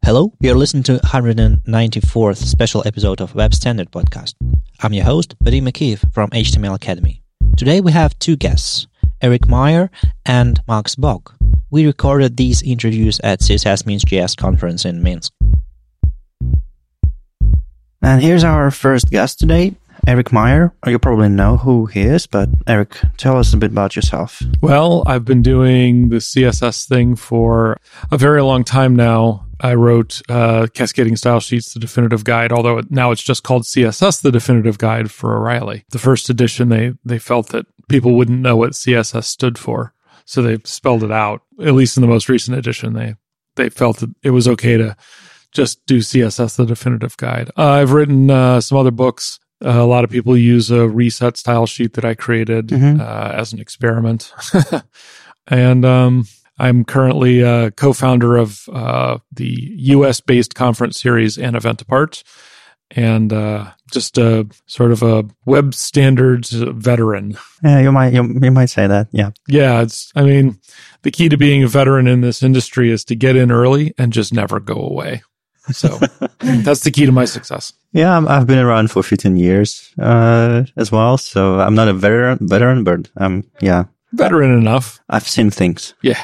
Hello, you're listening to 194th special episode of Web Standard Podcast. I'm your host, Vadim Akiv from HTML Academy. Today we have two guests, Eric Meyer and Max Bock. We recorded these interviews at CSS Means JS conference in Minsk. And here's our first guest today, Eric Meyer. You probably know who he is, but Eric, tell us a bit about yourself. Well, I've been doing the CSS thing for a very long time now. I wrote Cascading Style Sheets, the definitive guide, although now it's just called CSS, the definitive guide for O'Reilly. The first edition, they felt that people wouldn't know what CSS stood for, so they spelled it out. At least in the most recent edition, they felt that it was okay to just do CSS, the definitive guide. I've written some other books. A lot of people use a reset style sheet that I created as an experiment. And I'm currently a co-founder of the US-based conference series and Event Apart, and just a sort of a web standards veteran. Yeah, you might say that. Yeah. Yeah, the key to being a veteran in this industry is to get in early and just never go away. So that's the key to my success. Yeah, I've been around for 15 years as well, so I'm not a veteran, but veteran enough. I've seen things. Yeah.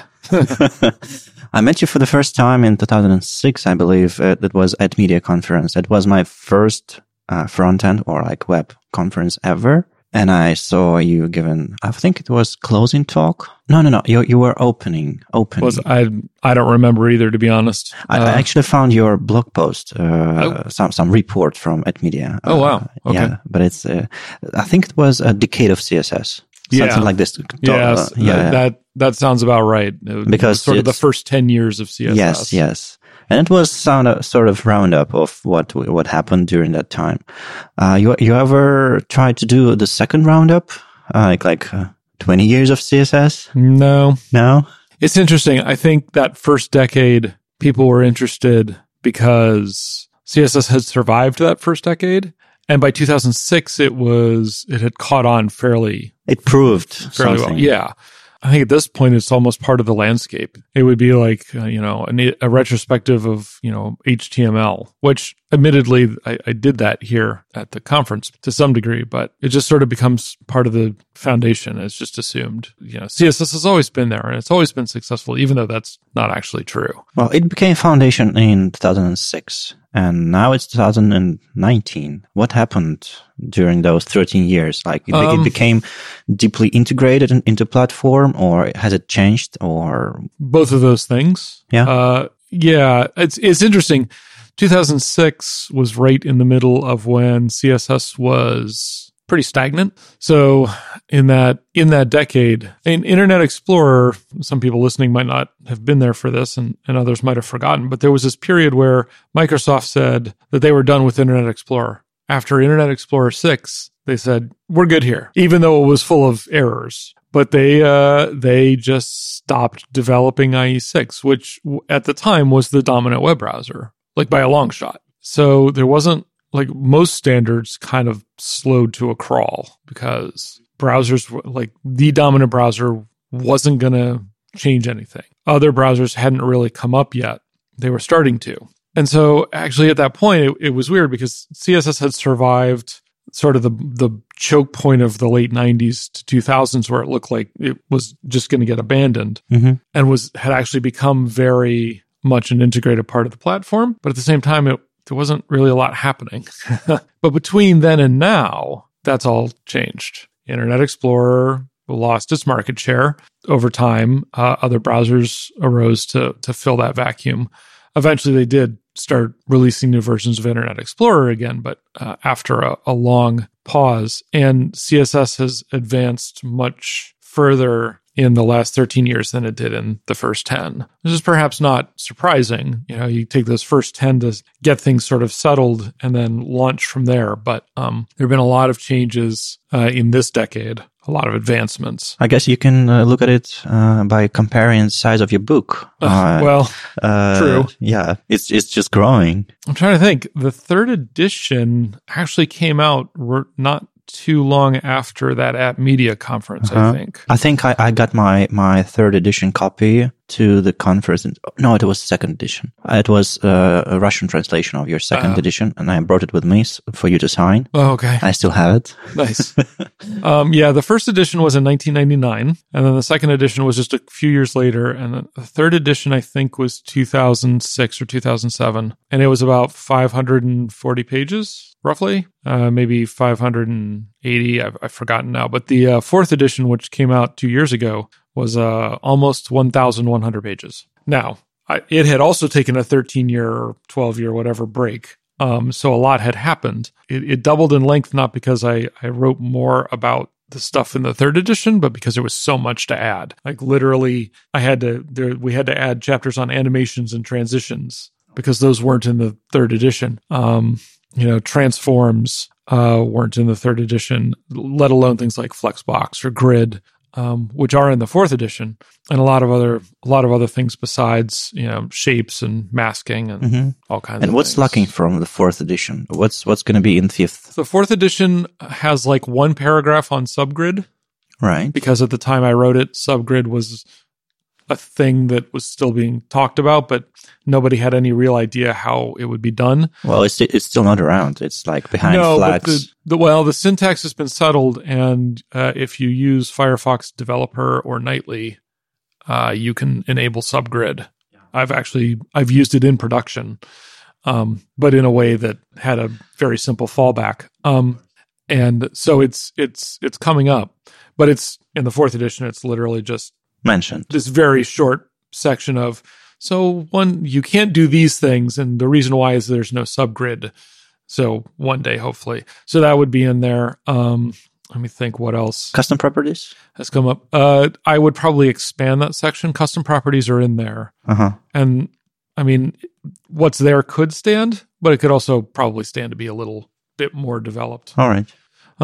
I met you for the first time in 2006, I believe. That was at Media Conference. It was my first front-end or web conference ever. And I saw you giving, I think it was closing talk. No. You were opening. I don't remember either, to be honest. I actually found your blog post, some report from at Media. Oh, wow. Okay. Yeah, but it's, I think it was a decade of CSS. Something like this. Yes, that sounds about right. Because sort of the first 10 years of CSS. Yes. And it was sort of roundup of what happened during that time. You ever tried to do the second roundup, like 20 years of CSS? No. It's interesting. I think that first decade, people were interested because CSS had survived that first decade. And by 2006, it had caught on fairly. It proved fairly something. well. Yeah. I think at this point, it's almost part of the landscape. It would be like, a retrospective of, HTML, which admittedly, I did that here at the conference to some degree, but it just sort of becomes part of the foundation. It's just assumed, CSS has always been there and it's always been successful, even though that's not actually true. Well, it became foundation in 2006 and now it's 2019. What happened during those 13 years? It became deeply integrated into platform, or has it changed, or both of those things? Yeah. It's interesting. 2006 was right in the middle of when CSS was pretty stagnant. So in that decade, in Internet Explorer, some people listening might not have been there for this, and others might have forgotten, but there was this period where Microsoft said that they were done with Internet Explorer. After Internet Explorer 6, they said, we're good here, even though it was full of errors. But they just stopped developing IE6, which at the time was the dominant web browser, by a long shot. So there wasn't, most standards kind of slowed to a crawl because browsers, the dominant browser wasn't going to change anything. Other browsers hadn't really come up yet. They were starting to. And so actually at that point, it was weird because CSS had survived sort of the choke point of the late 90s to 2000s where it looked like it was just going to get abandoned and had actually become very much an integrated part of the platform. But at the same time, there wasn't really a lot happening. But between then and now, that's all changed. Internet Explorer lost its market share over time. Other browsers arose to fill that vacuum. Eventually, they did start releasing new versions of Internet Explorer again, but after a long pause. And CSS has advanced much further in the last 13 years than it did in the first 10. This is perhaps not surprising. You take those first 10 to get things sort of settled and then launch from there. But there have been a lot of changes in this decade, a lot of advancements. I guess you can look at it by comparing the size of your book. True. Yeah, it's just growing. I'm trying to think. The third edition actually came out not too long after that at Media Conference, I think. I think I got my third edition copy to the conference. No, it was second edition. It was a Russian translation of your second edition, and I brought it with me for you to sign. Oh, okay. I still have it. Nice. The first edition was in 1999, and then the second edition was just a few years later, and the third edition, I think, was 2006 or 2007, and it was about 540 pages, roughly, maybe 580, I've forgotten now, but the fourth edition, which came out 2 years ago, was almost 1,100 pages. Now, it had also taken a 13-year or 12-year, whatever, break. So a lot had happened. It doubled in length, not because I wrote more about the stuff in the third edition, but because there was so much to add. Like literally, we had to add chapters on animations and transitions because those weren't in the third edition. Transforms weren't in the third edition, let alone things like Flexbox or Grid, which are in the fourth edition, and a lot of other things besides, shapes and masking and all kinds of things. And what's lacking from the fourth edition? What's going to be in fifth? The fourth edition has like one paragraph on subgrid. Right. Because at the time I wrote it, subgrid was a thing that was still being talked about, but nobody had any real idea how it would be done. Well, it's still not around. It's like behind flags. The syntax has been settled, and if you use Firefox Developer or Nightly, you can enable subgrid. I've used it in production, but in a way that had a very simple fallback. And so it's coming up, but it's in the fourth edition. It's literally just mentioned this very short section of, so one, you can't do these things, and the reason why is there's no subgrid. So one day, hopefully. So that would be in there. Let me think what else. Custom properties has come up. I would probably expand that section. Custom properties are in there. And I mean, what's there could stand, but it could also probably stand to be a little bit more developed. All right.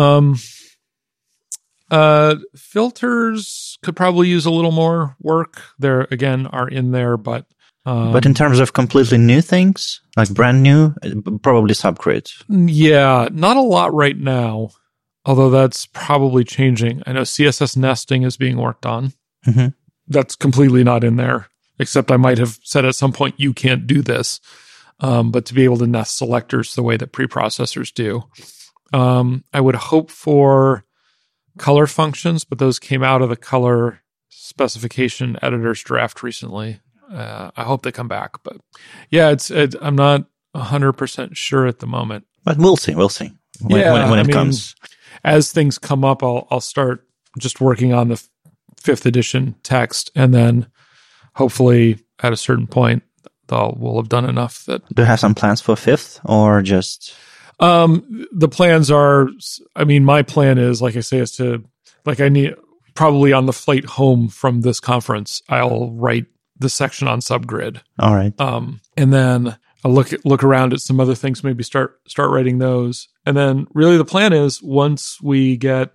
Filters could probably use a little more work. There again are in there, but in terms of completely new things, like brand new, probably subgrid. Yeah, not a lot right now, although that's probably changing. I know CSS nesting is being worked on. That's completely not in there, except I might have said at some point you can't do this, but to be able to nest selectors the way that preprocessors do. I would hope for color functions, but those came out of the color specification editor's draft recently. I hope they come back, but yeah, I'm not 100% sure at the moment. But we'll see. When it comes. As things come up, I'll start just working on the fifth edition text, and then hopefully at a certain point, we'll have done enough that. Do you have some plans for fifth, or just? The plans are, my plan is, like I say, is to, I need, probably on the flight home from this conference, I'll write the section on subgrid. All right. And then I'll look around at some other things, maybe start writing those. And then really the plan is once we get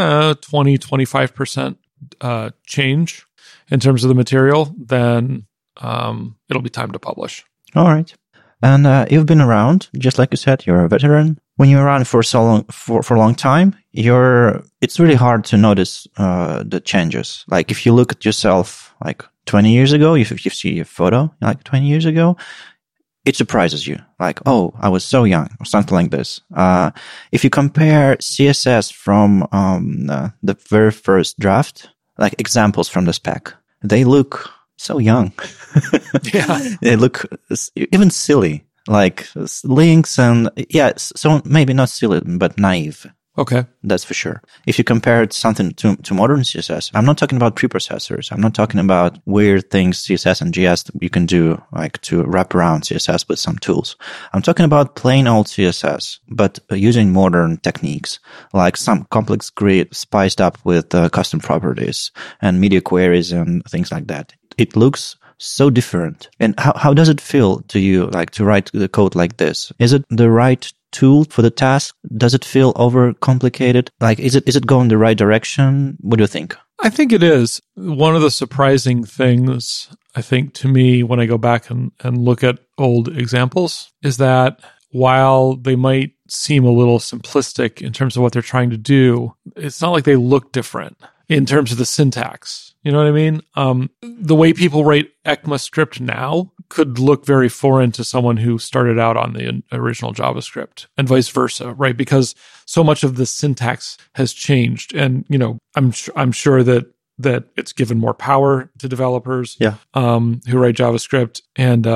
20-25% change in terms of the material, then it'll be time to publish. All right. And you've been around, just like you said, you're a veteran. When you're around for so long, for a long time, it's really hard to notice the changes. Like if you look at yourself like 20 years ago, if you see a photo like 20 years ago, it surprises you. Like, oh, I was so young, or something like this. If you compare CSS from the very first draft, like examples from the spec, they look so young. Yeah. They look even silly, like links and, so maybe not silly, but naive. Okay. That's for sure. If you compare something to modern CSS, I'm not talking about preprocessors. I'm not talking about weird things, CSS and JS, that you can do, like to wrap around CSS with some tools. I'm talking about plain old CSS, but using modern techniques, like some complex grid spiced up with custom properties and media queries and things like that. It looks so different. And how does it feel to you, like to write the code like this? Is it the right tool for the task? Does it feel overcomplicated? Like, is it going the right direction? What do you think? I think it is. One of the surprising things, I think, to me, when I go back and look at old examples, is that while they might seem a little simplistic in terms of what they're trying to do, it's not like they look different in terms of the syntax. You know what I mean? The way people write ECMAScript now could look very foreign to someone who started out on the original JavaScript, and vice versa, right? Because so much of the syntax has changed, and I'm sure that it's given more power to developers who write JavaScript, and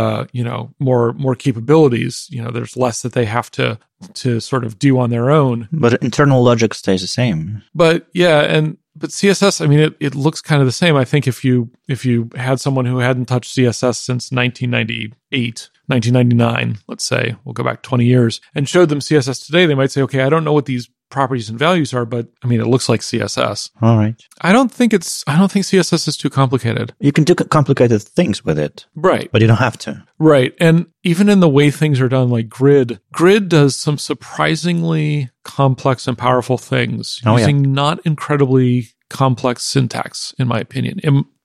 more capabilities. There's less that they have to sort of do on their own. But internal logic stays the same. But CSS, I mean, it looks kind of the same. I think if you had someone who hadn't touched CSS since 1998, 1999, let's say, we'll go back 20 years, and showed them CSS today, they might say, okay, I don't know what these properties and values are, but I mean, it looks like CSS. All right. I don't think CSS is too complicated. You can do complicated things with it. Right. But you don't have to. Right. And even in the way things are done, like Grid does some surprisingly complex and powerful things using not incredibly complex syntax, in my opinion.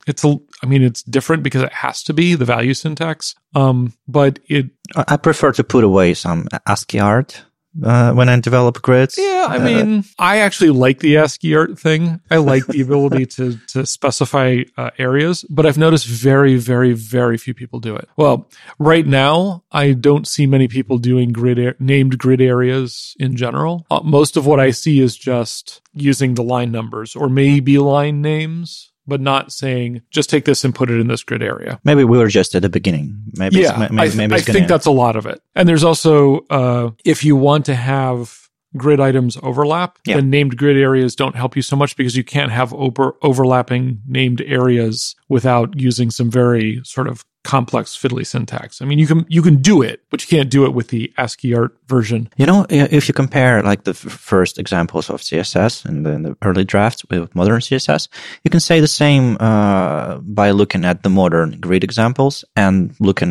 It's different because it has to be the value syntax. But I prefer to put away some ASCII art when I develop grids. Yeah, I mean, I actually like the ASCII art thing. I like the ability to specify areas, but I've noticed very, very, very few people do it. Well, right now, I don't see many people doing named grid areas in general. Most of what I see is just using the line numbers or maybe line names, but not saying, just take this and put it in this grid area. Maybe we were just at the beginning. I think that's a lot of it. And there's also, if you want to have grid items overlap, then named grid areas don't help you so much because you can't have overlapping named areas without using some very sort of complex fiddly syntax. I mean, you can do it, but you can't do it with the ASCII art version. If you compare like the first examples of CSS and the early drafts with modern CSS, you can say the same by looking at the modern grid examples and looking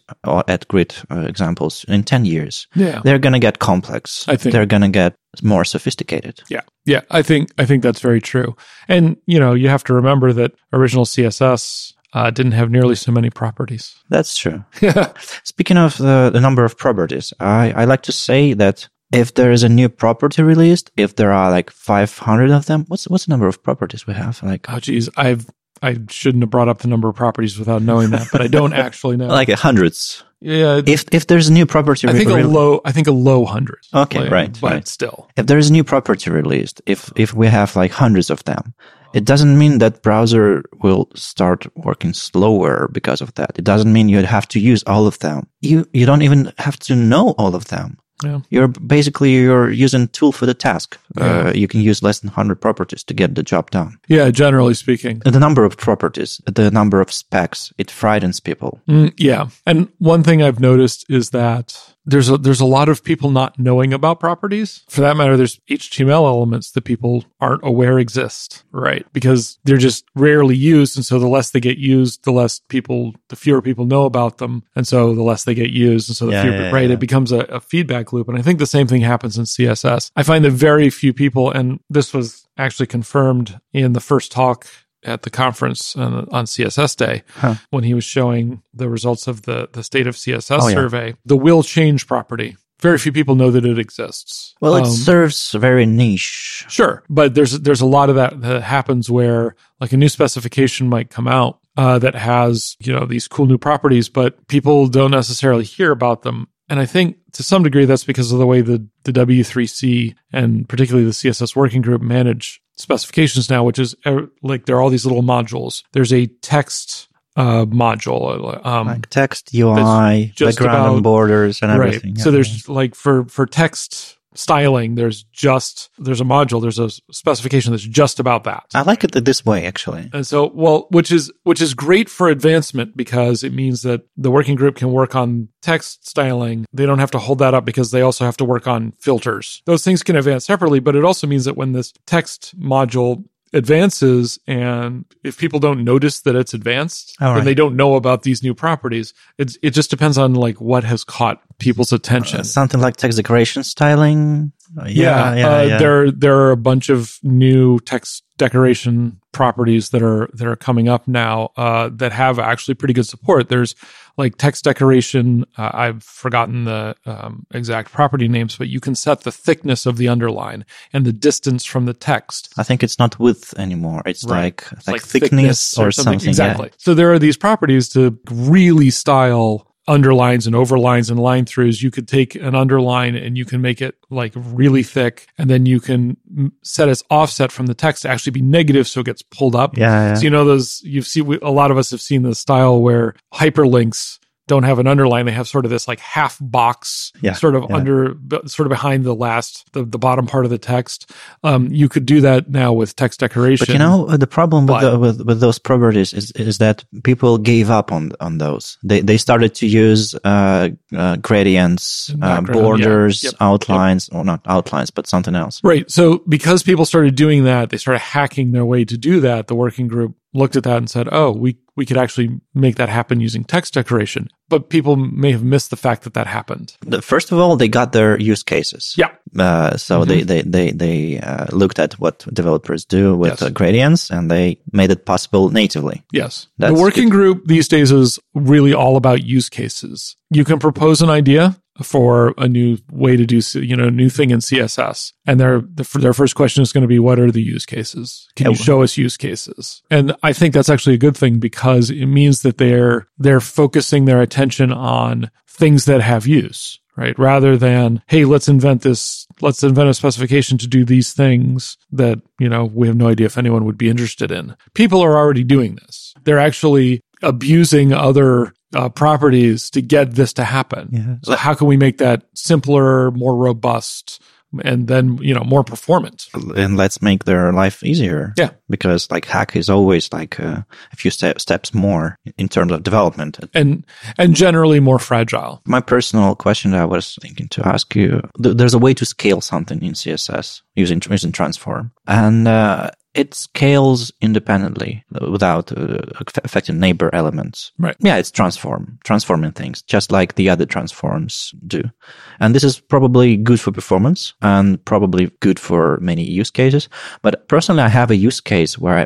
at grid examples in 10 years. Yeah, they're going to get complex. I think they're going to get more sophisticated. Yeah. I think that's very true. And you have to remember that original CSS didn't have nearly so many properties. That's true. Speaking of the number of properties, I like to say that if there is a new property released, if there are like 500 of them, what's the number of properties we have? Oh, geez, I shouldn't have brought up the number of properties without knowing that, but I don't actually know. Like hundreds. Yeah. If there's a new property, I think a low hundreds. Okay, right. But still, if there is a new property released, if we have like hundreds of them, it doesn't mean that browser will start working slower because of that. It doesn't mean you'd have to use all of them. You don't even have to know all of them. Yeah. You're using tool for the task. Yeah. You can use less than 100 properties to get the job done. Yeah, generally speaking. The number of properties, the number of specs, it frightens people. Yeah. And one thing I've noticed is that there's a lot of people not knowing about properties. For that matter, there's HTML elements that people aren't aware exist, right? Because they're just rarely used. And so the less they get used, the fewer people know about them. And so the less they get used. And so it becomes a feedback loop. And I think the same thing happens in CSS. I find that very few people, and this was actually confirmed in the first talk at the conference on CSS Day, when he was showing the results of the State of CSS survey, the will change property. Very few people know that it exists. Well, it serves very niche. Sure, but there's a lot of that happens where like a new specification might come out that has these cool new properties, but people don't necessarily hear about them. And I think to some degree that's because of the way the W3C and particularly the CSS working group manage specifications now, which is like there are all these little modules. There's a text module, like text UI, background and borders and everything. Right. So there's like for text styling, there's a module, there's a specification that's just about that. I like it this way, actually. And so, which is great for advancement because it means that the working group can work on text styling. They don't have to hold that up because they also have to work on filters. Those things can advance separately, but it also means that when this text module advances, and if people don't notice that it's advanced, then they don't know about these new properties. It just depends on like what has caught people's attention. Something like text decoration styling. There are a bunch of new text decoration properties that are coming up now that have actually pretty good support. There's like text decoration. I've forgotten the exact property names, but you can set the thickness of the underline and the distance from the text. I think it's not width anymore. It's right. like thickness or something. Exactly. Yeah. So there are these properties to really style underlines and overlines and line throughs. You could take an underline and you can make it like really thick, and then you can set its offset from the text to actually be negative so it gets pulled up. Yeah. So you know those, a lot of us have seen the style where hyperlinks don't have an underline. They have sort of this like half box under, sort of behind the bottom part of the text. You could do that now with text decoration. But you know, the problem with those properties is that people gave up on those. They started to use gradients, borders, outlines, or not outlines, but something else. Right. So because people started doing that, they started hacking their way to do that. The working group looked at that and said, oh, we could actually make that happen using text decoration. But people may have missed the fact that happened. First of all, they got their use cases. Yeah. So they looked at what developers do with gradients, and they made it possible natively. Yes. The working group these days is really all about use cases. You can propose an idea for a new way to do, new thing in CSS. And their first question is going to be, what are the use cases? Can you show us use cases? And I think that's actually a good thing, because it means that they're focusing their attention on things that have use, right? Rather than, hey, let's invent a specification to do these things that, we have no idea if anyone would be interested in. People are already doing this. They're actually abusing other properties to get this to happen. Yeah. So how can we make that simpler, more robust, and then, more performant? And let's make their life easier. Yeah. Because like hack is always like a few steps more in terms of development. And generally more fragile. My personal question that I was thinking to ask you, there's a way to scale something in CSS using transform. And it scales independently without affecting neighbor elements. Right. Yeah, it's transforming things, just like the other transforms do. And this is probably good for performance and probably good for many use cases. But personally, I have a use case where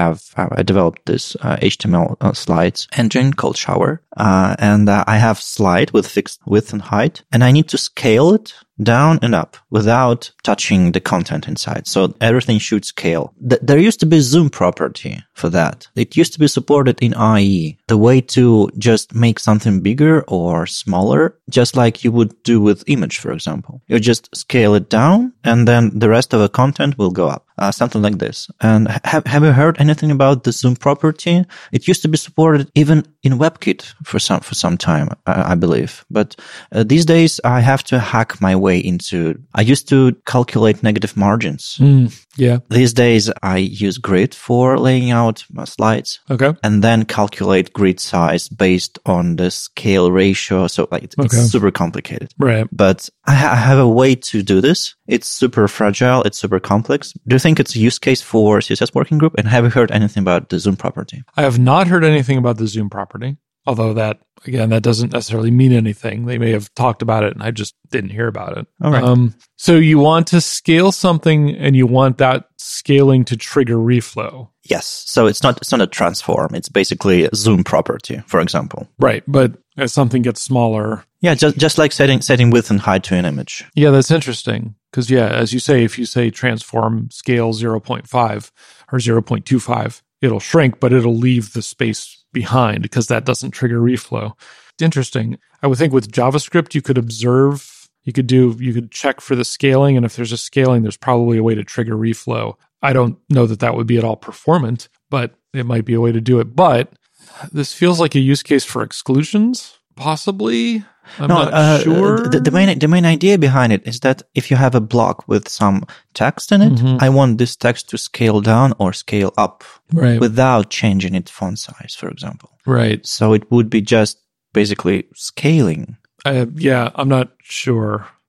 I developed this HTML slides engine called Shower. And I have slide with fixed width and height, and I need to scale it down and up without touching the content inside. So everything should scale. There used to be zoom property for that. It used to be supported in IE. The way to just make something bigger or smaller, just like you would do with image, for example. You just scale it down, and then the rest of the content will go up. Something like this. And have you heard anything about the zoom property? It used to be supported even in WebKit for some time, I believe. But these days, I have to hack my way into. I used to calculate negative margins. Yeah. These days, I use Grid for laying out my slides. Okay. And then calculate grid size based on the scale ratio. So it's super complicated. Right. But I have a way to do this. It's super fragile. It's super complex. Do you think it's a use case for CSS working group? And have you heard anything about the zoom property? I have not heard anything about the zoom property. Although that doesn't necessarily mean anything. They may have talked about it and I just didn't hear about it. All right. So you want to scale something and you want that scaling to trigger reflow. Yes. So it's not a transform. It's basically a zoom property, for example. Right. But as something gets smaller. Yeah. Just like setting width and height to an image. Yeah, that's interesting. Because as you say, if you say transform scale 0.5 or 0.25, it'll shrink, but it'll leave the space behind because that doesn't trigger reflow. It's interesting. I would think with JavaScript, you could observe, you could check for the scaling. And if there's a scaling, there's probably a way to trigger reflow. I don't know that would be at all performant, but it might be a way to do it. But this feels like a use case for exclusions, possibly. I'm not sure. The main idea behind it is that if you have a block with some text in it, I want this text to scale down or scale up without changing its font size, for example. Right. So it would be just basically scaling. I'm not sure.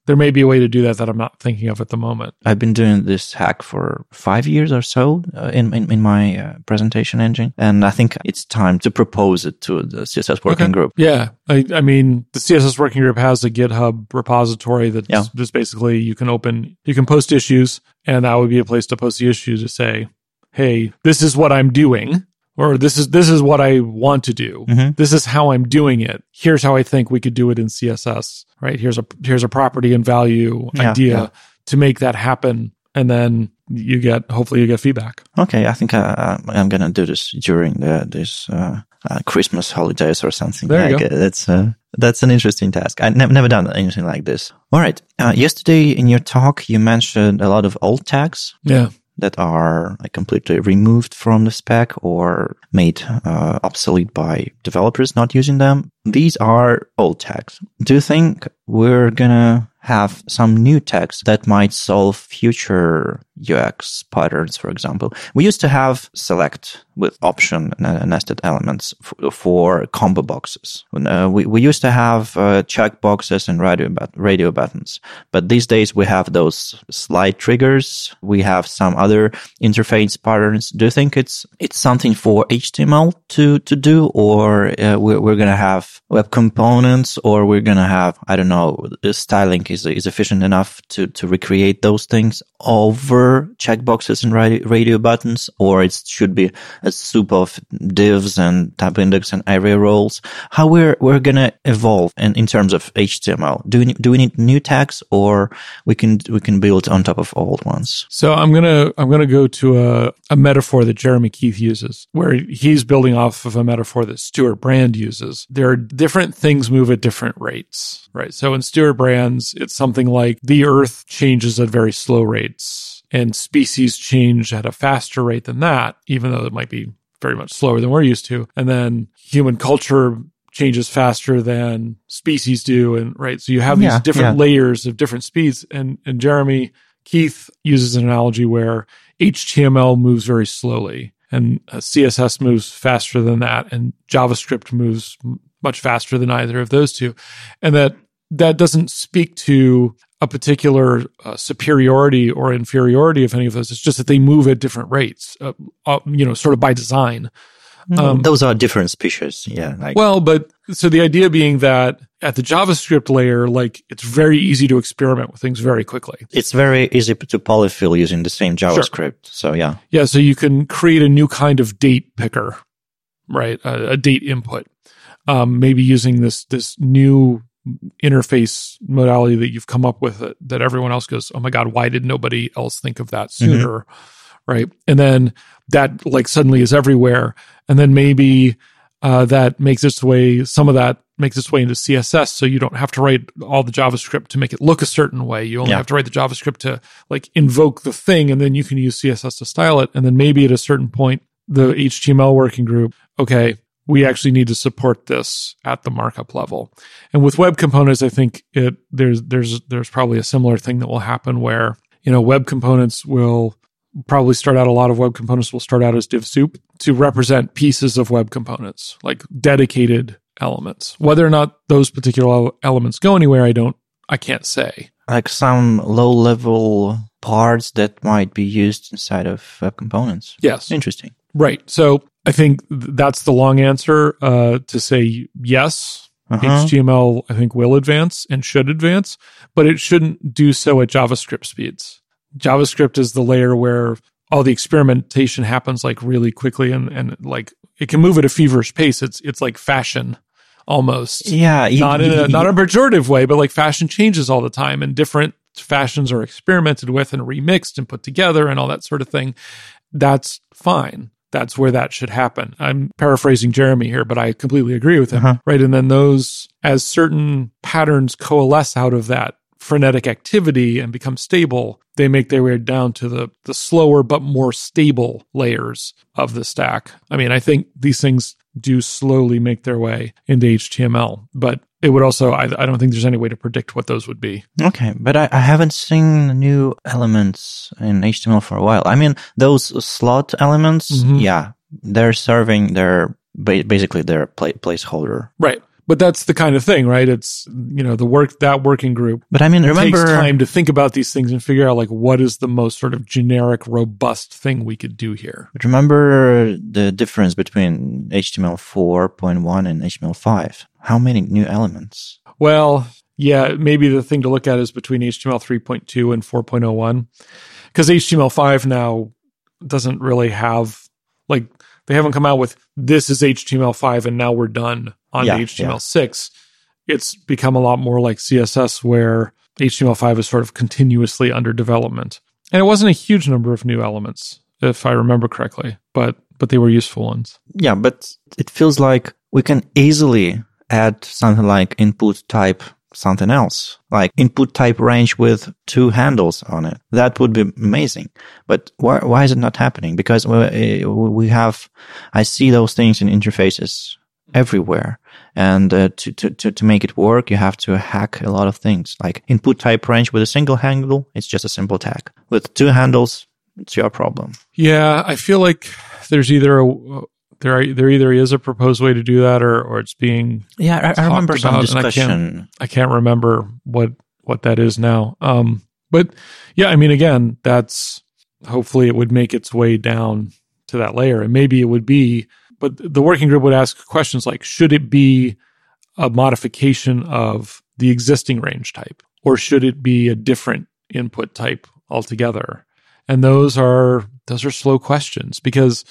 there may be a way to do that I'm not thinking of at the moment. I've been doing this hack for 5 years or so in my presentation engine, and I think it's time to propose it to the CSS working group. Yeah, I mean, the CSS working group has a GitHub repository that's just basically you can post issues, and that would be a place to post the issues to say, hey, this is what I'm doing. Or this is what I want to do. Mm-hmm. This is how I'm doing it. Here's how I think we could do it in CSS. Right? Here's a property and value idea to make that happen, and then hopefully you get feedback. Okay, I think I'm gonna do this during this Christmas holidays or something. There you go. That's an interesting task. I've never done anything like this. All right. Yesterday in your talk, you mentioned a lot of alt tags. Yeah. That are completely removed from the spec or made obsolete by developers not using them. These are old tags. Do you think we're gonna have some new tags that might solve future UX patterns, for example? We used to have select with option nested elements for combo boxes. We used to have check boxes and radio buttons. But these days we have those slide triggers. We have some other interface patterns. Do you think it's something for HTML to do, or we're going to have web components, or we're going to have, I don't know, styling is efficient enough to recreate those things over checkboxes and radio buttons, or it should be a soup of divs and tab index and area roles? How we're going to evolve in terms of HTML? Do we need new tags, or we can build on top of old ones? So I'm gonna go to a metaphor that Jeremy Keith uses, where he's building off of a metaphor that Stuart Brand uses. There are different things move at different rates, right? So in Stuart Brand's, it's something like the Earth changes at very slow rates, and species change at a faster rate than that, even though it might be very much slower than we're used to. And then human culture changes faster than species do, and right. So you have these different layers of different speeds. And Jeremy Keith uses an analogy where HTML moves very slowly, and CSS moves faster than that, and JavaScript moves much faster than either of those two. And that doesn't speak to a particular superiority or inferiority of any of those. It's just that they move at different rates, sort of by design. Those are different species. Yeah. But so the idea being that at the JavaScript layer, it's very easy to experiment with things very quickly. It's very easy to polyfill using the same JavaScript. Sure. So yeah. Yeah. So you can create a new kind of date picker, right? A date input, maybe using this new interface modality that you've come up with that everyone else goes, oh my God, why did nobody else think of that sooner? Mm-hmm. Right. And then that suddenly is everywhere. And then maybe that makes its way, some of that makes its way into CSS. So you don't have to write all the JavaScript to make it look a certain way. You only have to write the JavaScript to invoke the thing, and then you can use CSS to style it. And then maybe at a certain point, the HTML working group, okay, we actually need to support this at the markup level. And with web components, I think there's probably a similar thing that will happen where, web components will probably start out, a lot of web components will start out as div soup to represent pieces of web components, like dedicated elements. Whether or not those particular elements go anywhere, I can't say. Like some low-level parts that might be used inside of web components. Yes. Interesting. Right. So I think that's the long answer to say yes. HTML, I think, will advance and should advance, but it shouldn't do so at JavaScript speeds. JavaScript is the layer where all the experimentation happens really quickly and it can move at a feverish pace. It's like fashion almost. Yeah. Not in a pejorative way, but fashion changes all the time, and different fashions are experimented with and remixed and put together and all that sort of thing. That's fine. That's where that should happen. I'm paraphrasing Jeremy here, but I completely agree with him, right? And then as certain patterns coalesce out of that frenetic activity and become stable, they make their way down to the slower but more stable layers of the stack. I mean, I think these things do slowly make their way into HTML, but it would also, I don't think there's any way to predict what those would be. Okay, but I haven't seen new elements in HTML for a while. I mean, those slot elements, they're serving basically their placeholder. Right. But that's the kind of thing, right? It's, that working group. But I mean, remember, takes time to think about these things and figure out like what is the most sort of generic, robust thing we could do here. But remember the difference between HTML 4.1 and HTML5. How many new elements? Well, yeah, maybe the thing to look at is between HTML 3.2 and 4.01, because HTML5 now doesn't really have, like, they haven't come out with, this is HTML5 and now we're done on HTML6. It's become a lot more like CSS, where HTML5 is sort of continuously under development. And it wasn't a huge number of new elements, if I remember correctly, but they were useful ones. Yeah, but it feels like we can easily add something like input type something else, like input type range with 2 handles on it. That would be amazing. But why is it not happening? Because I see those things in interfaces everywhere. And to make it work, you have to hack a lot of things. Like input type range with a single handle, it's just a simple tag. With 2 handles, it's your problem. Yeah, I feel like there's there either is a proposed way to do that, or it's being I remember some discussion. I can't remember what that is now. But yeah, I mean, again, that's, hopefully it would make its way down to that layer, and maybe it would be. But the working group would ask questions like, should it be a modification of the existing range type, or should it be a different input type altogether? And those are slow questions, because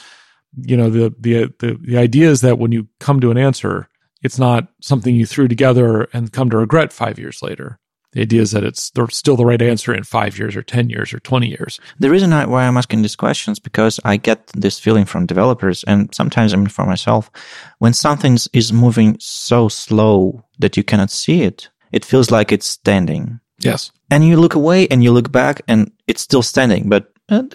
the idea is that when you come to an answer, it's not something you threw together and come to regret 5 years later. The idea is that it's still the right answer in 5 years or 10 years or 20 years. The reason why I'm asking these questions, because I get this feeling from developers, and sometimes for myself, when something is moving so slow that you cannot see it, it feels like it's standing. Yes. And you look away and you look back and it's still standing, but at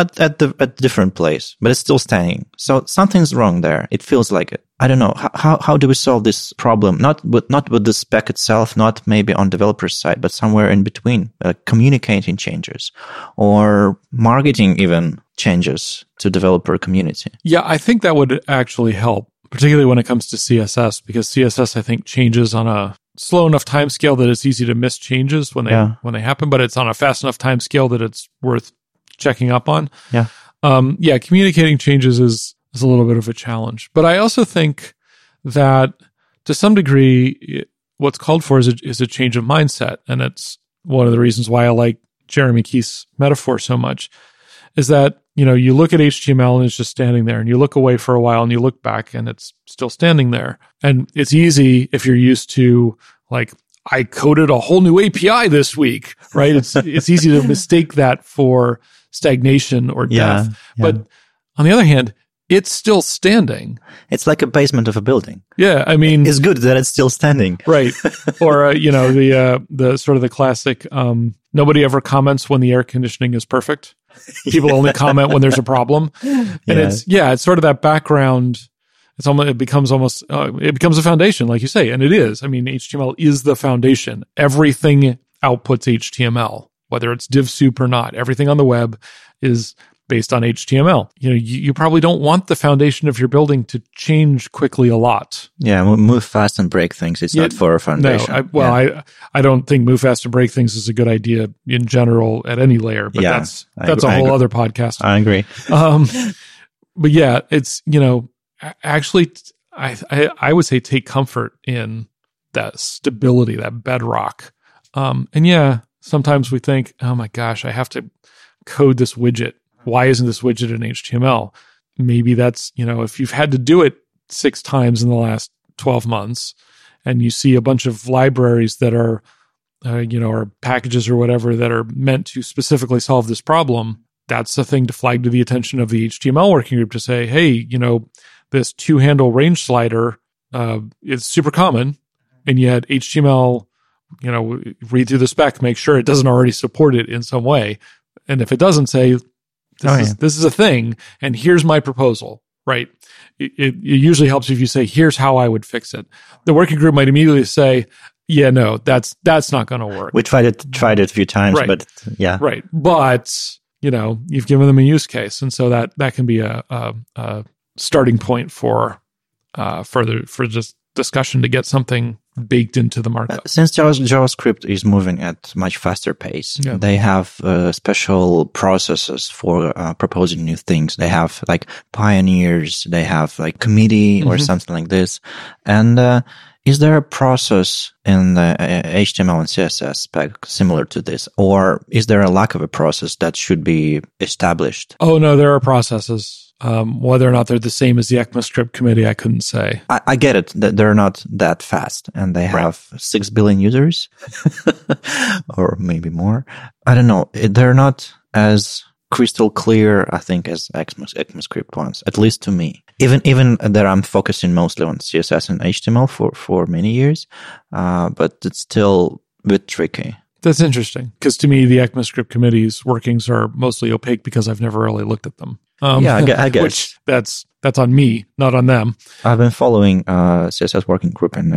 a different place, but it's still standing. So something's wrong there. It feels like it. I don't know. How do we solve this problem? Not with the spec itself, not maybe on developer's side, but somewhere in between, communicating changes or marketing even changes to developer community. Yeah, I think that would actually help, particularly when it comes to CSS, because CSS, I think, changes on a slow enough time scale that it's easy to miss changes when they happen, but it's on a fast enough time scale that it's worth checking up on. Yeah. Communicating changes is a little bit of a challenge. But I also think that to some degree, what's called for is a change of mindset. And it's one of the reasons why I like Jeremy Keith's metaphor so much, is that, you look at HTML and it's just standing there, and you look away for a while and you look back and it's still standing there. And it's easy if you're used to, like, I coded a whole new API this week, right? It's easy to mistake that for stagnation or death. Yeah. But on the other hand, it's still standing. It's like a basement of a building. Yeah, I mean, it's good that it's still standing. Right. Or the sort of the classic, nobody ever comments when the air conditioning is perfect. People only comment when there's a problem. And it's sort of that background. It becomes a foundation, like you say, and it is. I mean, HTML is the foundation. Everything outputs HTML, whether it's div soup or not. Everything on the web is based on HTML. You probably don't want the foundation of your building to change quickly a lot. Yeah, move fast and break things. It's not for a foundation. No, I don't think move fast and break things is a good idea in general at any layer, but that's a whole other podcast. I agree. But yeah, it's, actually, I would say take comfort in that stability, that bedrock. And sometimes we think, oh my gosh, I have to code this widget. Why isn't this widget in HTML? Maybe that's, if you've had to do it 6 times in the last 12 months and you see a bunch of libraries that are, or packages or whatever that are meant to specifically solve this problem, that's the thing to flag to the attention of the HTML working group to say, hey, this 2-handle range slider is super common, and yet HTML, read through the spec, make sure it doesn't already support it in some way. And if it doesn't, say, this is a thing, and here's my proposal, right? It usually helps if you say, here's how I would fix it. The working group might immediately say, yeah, no, that's not going to work. We tried it a few times, right. But yeah. Right. But, you've given them a use case. And so that can be a starting point for just discussion to get something baked into the markup. Since JavaScript is moving at much faster pace, they have special processes for proposing new things. They have like pioneers, they have like committee or something like this. And is there a process in the HTML and CSS spec similar to this? Or is there a lack of a process that should be established? Oh, no, there are processes. Whether or not they're the same as the ECMAScript committee, I couldn't say. I get it. They're not that fast, and they have 6 billion users, or maybe more. I don't know. They're not as crystal clear, I think, as ECMAScript ones, at least to me. Even that I'm focusing mostly on CSS and HTML for many years, but it's still a bit tricky. That's interesting, because to me, the ECMAScript committee's workings are mostly opaque because I've never really looked at them. I guess. Which that's on me, not on them. I've been following CSS working group in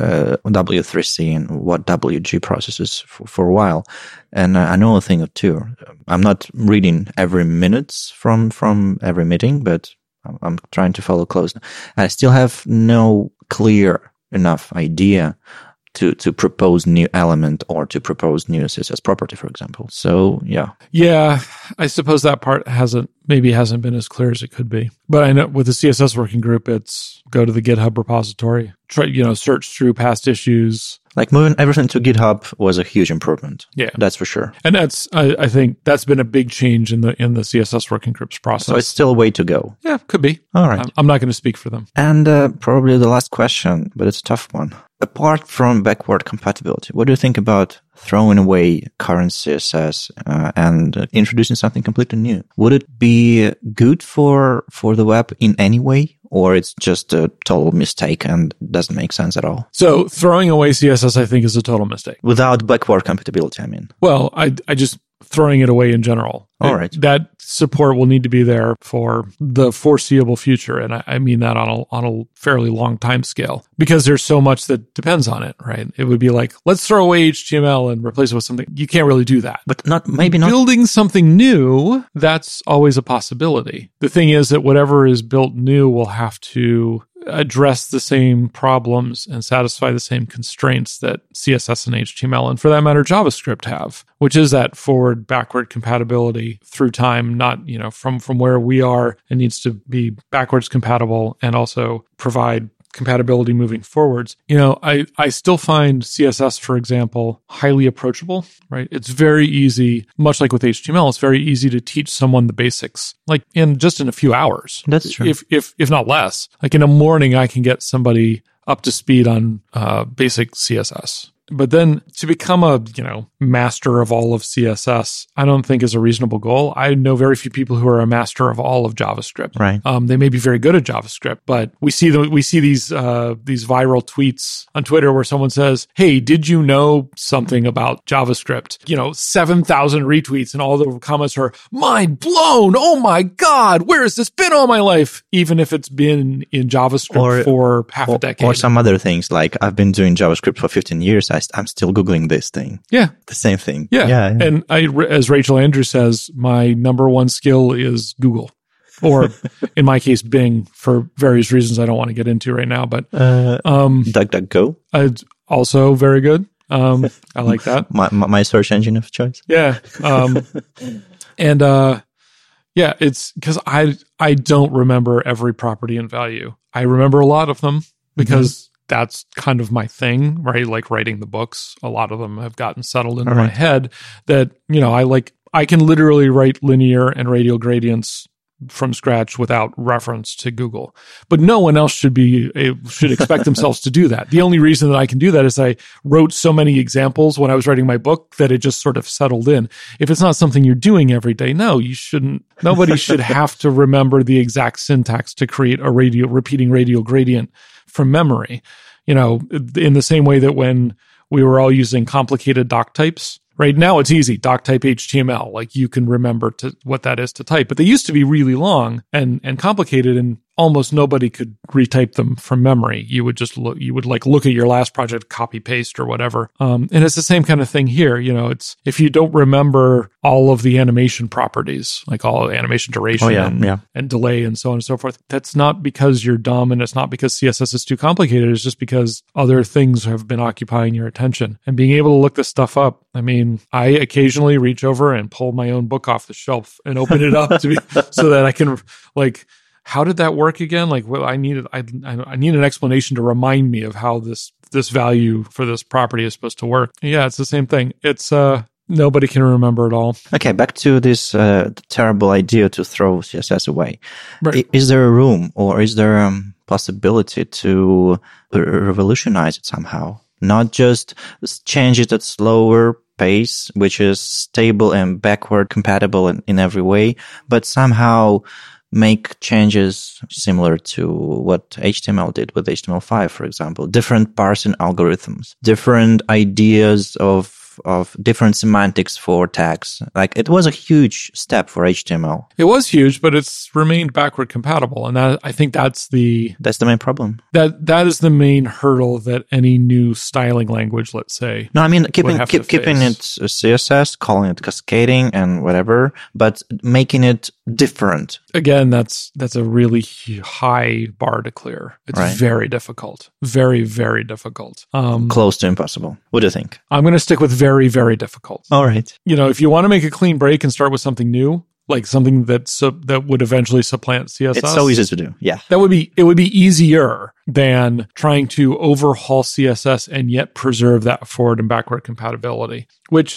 W3C and what WG processes for a while, and I know a thing or two. I'm not reading every minutes from every meeting, but I'm trying to follow close. I still have no clear enough idea to propose new element or to propose new CSS property, for example. So, yeah. Yeah, I suppose that part hasn't been as clear as it could be. But I know with the CSS working group, it's go to the GitHub repository, try, search through past issues. Like moving everything to GitHub was a huge improvement. Yeah. That's for sure. And that's, I think that's been a big change in the CSS working group's process. So it's still a way to go. Yeah, could be. All right. I'm not going to speak for them. And probably the last question, but it's a tough one. Apart from backward compatibility, what do you think about throwing away current CSS and introducing something completely new? Would it be good for the web in any way? Or it's just a total mistake and doesn't make sense at all? So throwing away CSS, I think, is a total mistake. Without backward compatibility, I mean. Well, I just throwing it away in general. All right. That support will need to be there for the foreseeable future. And I mean that on a fairly long time scale, because there's so much that depends on it, right? It would be like, let's throw away HTML and replace it with something. You can't really do that. But maybe not. Building something new, that's always a possibility. The thing is that whatever is built new will have to address the same problems and satisfy the same constraints that CSS and HTML, and for that matter, JavaScript have, which is that forward, backward compatibility through time, not, from where we are, it needs to be backwards compatible and also provide compatibility moving forwards. I still find CSS, for example, highly approachable, right? It's very easy, much like with HTML, it's very easy to teach someone the basics, like in a few hours. That's true. If not less. Like in a morning, I can get somebody up to speed on basic CSS. But then to become a, master of all of CSS, I don't think is a reasonable goal. I know very few people who are a master of all of JavaScript. Right. They may be very good at JavaScript, but we see these viral tweets on Twitter where someone says, "Hey, did you know something about JavaScript?" 7,000 retweets, and all the comments are mind blown. Oh my God, where has this been all my life? Even if it's been in JavaScript for half a decade. Or some other things, like I've been doing JavaScript for 15 years. I'm still Googling this thing. Yeah. The same thing. Yeah. And as Rachel Andrews says, my number one skill is Google. Or in my case, Bing, for various reasons I don't want to get into right now. But DuckDuckGo. Also very good. I like that. My search engine of choice. Yeah. It's because I don't remember every property and value. I remember a lot of them because that's kind of my thing, right? Like writing the books, a lot of them have gotten settled into my head that, I can literally write linear and radial gradients from scratch without reference to Google. But no one else should expect themselves to do that. The only reason that I can do that is I wrote so many examples when I was writing my book that it just sort of settled in. If it's not something you're doing every day, no, you shouldn't. Nobody should have to remember the exact syntax to create a repeating radial gradient from memory. In the same way that when we were all using complicated doc types, right now it's easy, doc type HTML, like you can remember what that is to type, but they used to be really long and complicated. And almost nobody could retype them from memory. You would just look at your last project, copy paste or whatever. And it's the same kind of thing here. It's if you don't remember all of the animation properties, like all animation duration and delay and so on and so forth, that's not because you're dumb, and it's not because CSS is too complicated. It's just because other things have been occupying your attention. And being able to look this stuff up, I occasionally reach over and pull my own book off the shelf and open it up so that I can how did that work again? I need an explanation to remind me of how this value for this property is supposed to work. Yeah, it's the same thing. It's nobody can remember it all. Okay, back to this terrible idea to throw CSS away. Right. Is there a room, or is there a possibility to revolutionize it somehow? Not just change it at slower pace, which is stable and backward compatible in every way, but somehow make changes similar to what HTML did with HTML5, for example. Different parsing algorithms, different ideas of different semantics for tags. It was a huge step for HTML. It was huge, but it's remained backward compatible. And I think that's the main problem. That is the main hurdle that any new styling language, let's say. No, keeping it CSS, calling it cascading and whatever, but making it different. Again, that's a really high bar to clear. It's very difficult. Very, very difficult. Close to impossible. What do you think? I'm going to stick with very, very difficult. All right. If you want to make a clean break and start with something new, like something that would eventually supplant CSS. It's so easy to do. Yeah. It would be easier than trying to overhaul CSS and yet preserve that forward and backward compatibility, which,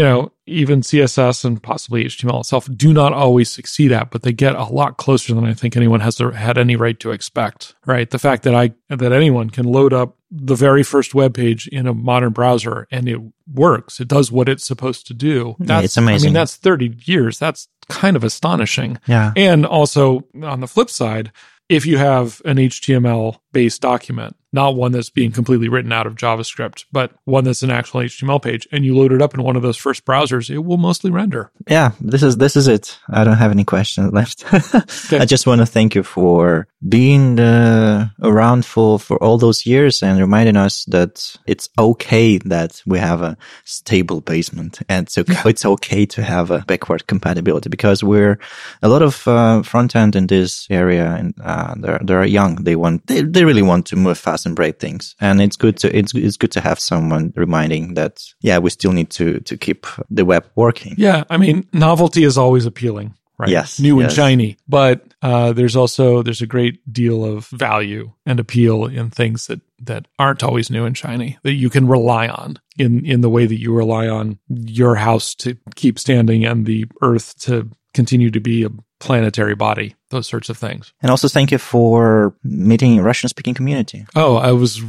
even CSS and possibly HTML itself do not always succeed at, but they get a lot closer than I think anyone had any right to expect, right? The fact that anyone can load up the very first web page in a modern browser and it works. It does what it's supposed to do. It's amazing. That's 30 years. That's kind of astonishing. Yeah. And also on the flip side, if you have an HTML-based document, not one that's being completely written out of JavaScript, but one that's an actual HTML page, and you load it up in one of those first browsers, it will mostly render. Yeah, this is it. I don't have any questions left. Okay. I just want to thank you for being around for all those years and reminding us that it's okay that we have a stable basement, and it's okay to have a backward compatibility, because we're a lot of front end in this area, and they're young. They really want to move fast and break things, and it's good to have someone reminding that we still need to keep the web working. Yeah, novelty is always appealing, right? Yes, new and shiny, but there's a great deal of value and appeal in things that aren't always new and shiny, that you can rely on in the way that you rely on your house to keep standing and the earth to continue to be a planetary body, those sorts of things. And also thank you for meeting a Russian-speaking community. Oh, I was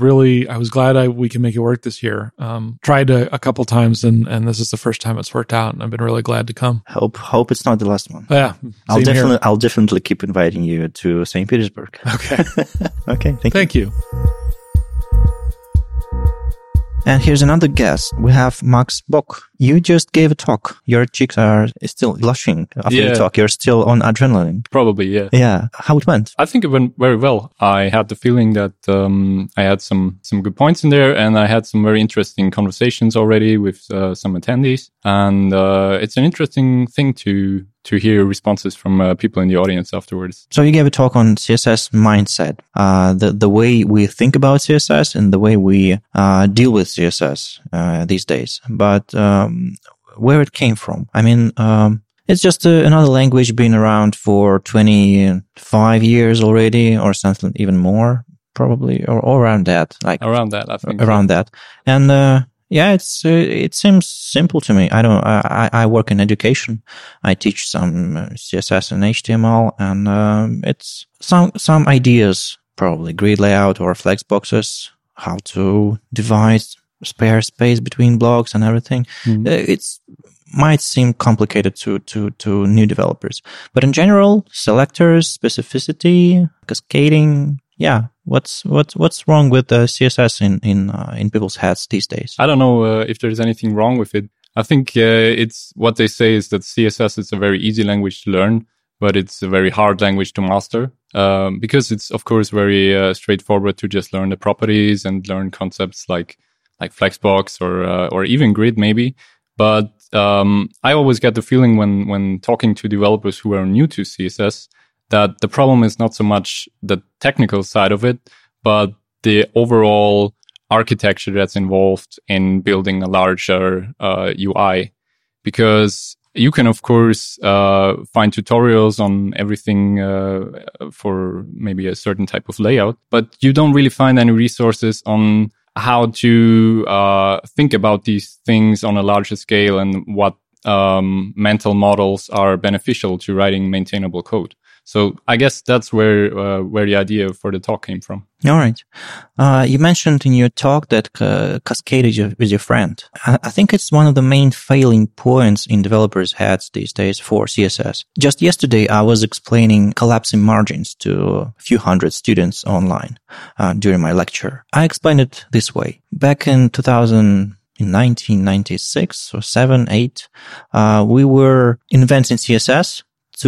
glad we can make it work this year. Tried a couple times, and this is the first time it's worked out, and I've been really glad to come. Hope it's not the last one. Yeah, I'll definitely keep inviting you to St. Petersburg. Okay. Okay, thank you. And here's another guest. We have Max Bock. You just gave a talk. Your cheeks are still blushing after the talk. You're still on adrenaline. Probably, yeah. Yeah. How it went? I think it went very well. I had the feeling that I had some good points in there, and I had some very interesting conversations already with some attendees. And it's an interesting thing to hear responses from people in the audience afterwards. So you gave a talk on CSS mindset, the way we think about CSS and the way we deal with CSS these days. But where it came from? It's just another language being around for 25 years already, or something even more, probably, or around that. Around that, I think. Around that. And it seems simple to me. I work in education. I teach some CSS and HTML, and it's some ideas, probably grid layout or flex boxes, how to divide spare space between blocks and everything. It's might seem complicated to new developers, but in general, selectors, specificity, cascading. Yeah, what's wrong with CSS in people's heads these days? I don't know if there's anything wrong with it. I think it's what they say is that CSS is a very easy language to learn, but it's a very hard language to master. because it's of course very straightforward to just learn the properties and learn concepts like Flexbox or even Grid maybe. But I always get the feeling when talking to developers who are new to CSS that the problem is not so much the technical side of it, but the overall architecture that's involved in building a larger UI. Because you can, of course, find tutorials on everything for maybe a certain type of layout, but you don't really find any resources on how to think about these things on a larger scale and what mental models are beneficial to writing maintainable code. So I guess that's where the idea for the talk came from. All right. You mentioned in your talk that cascaded with your friend. I think it's one of the main failing points in developers' heads these days for CSS. Just yesterday, I was explaining collapsing margins to a few hundred students online during my lecture. I explained it this way. Back in 1996 or 7, 8, we were inventing CSS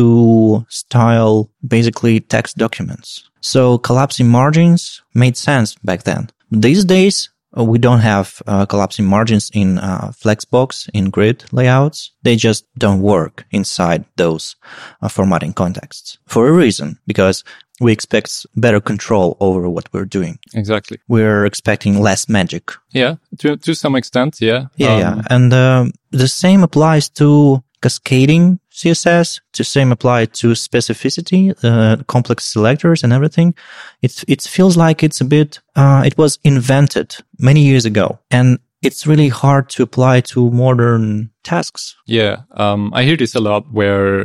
to style basically text documents. So collapsing margins made sense back then. These days, we don't have collapsing margins in Flexbox, in Grid layouts. They just don't work inside those formatting contexts for a reason, because we expect better control over what we're doing. Exactly. We're expecting less magic. Yeah, to some extent, yeah. Yeah. And the same applies to cascading CSS, the same apply to specificity, complex selectors and everything. It feels like it's a bit, it was invented many years ago, and it's really hard to apply to modern tasks. Yeah, I hear this a lot where